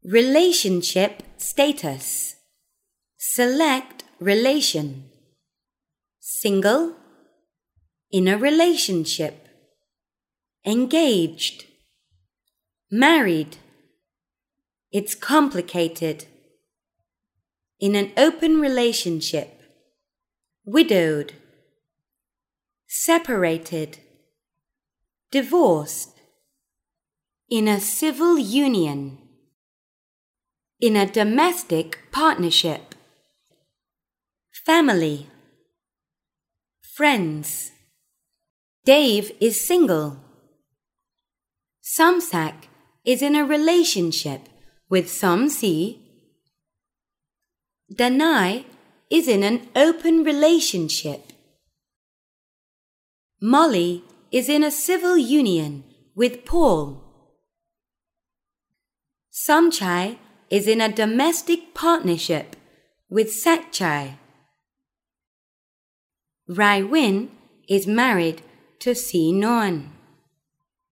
Relationship status. Select relation. Single, in a relationship. Engaged, married. It's complicated. In an open relationship. Widowed, separated, divorced. In a civil union. In a domestic partnership. Family, friends. Dave is single. Samsak is in a relationship with Samsi. Danai is in an open relationship. Molly is in a civil union with Paul. Samchai is in a domestic partnership with Satchai. Rai Win is married to Si Non.